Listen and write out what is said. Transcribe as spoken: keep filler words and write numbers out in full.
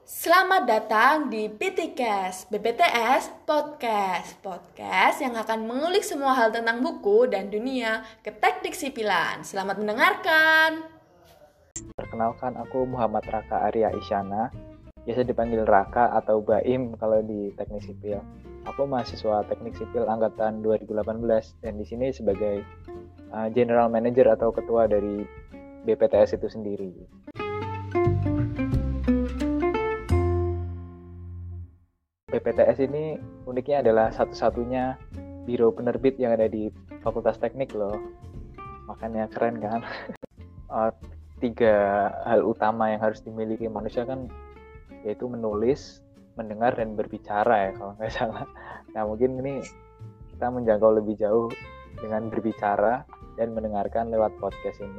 Selamat datang di B T Cast, B P T S Podcast. Podcast yang akan mengulik semua hal tentang buku dan dunia keteknik sipilan. Selamat mendengarkan. Perkenalkan, aku Muhammad Raka Arya Isyana, biasa dipanggil Raka atau Baim kalau di teknik sipil. Aku mahasiswa teknik sipil angkatan dua ribu delapan belas dan di sini sebagai uh, general manager atau ketua dari B P T S itu sendiri. B P T S ini uniknya adalah satu-satunya biro penerbit yang ada di Fakultas Teknik loh. Makanya keren kan? uh, tiga hal utama yang harus dimiliki manusia kan yaitu menulis, mendengar, dan berbicara ya kalau nggak salah. Nah mungkin ini kita menjangkau lebih jauh dengan berbicara dan mendengarkan lewat podcast ini.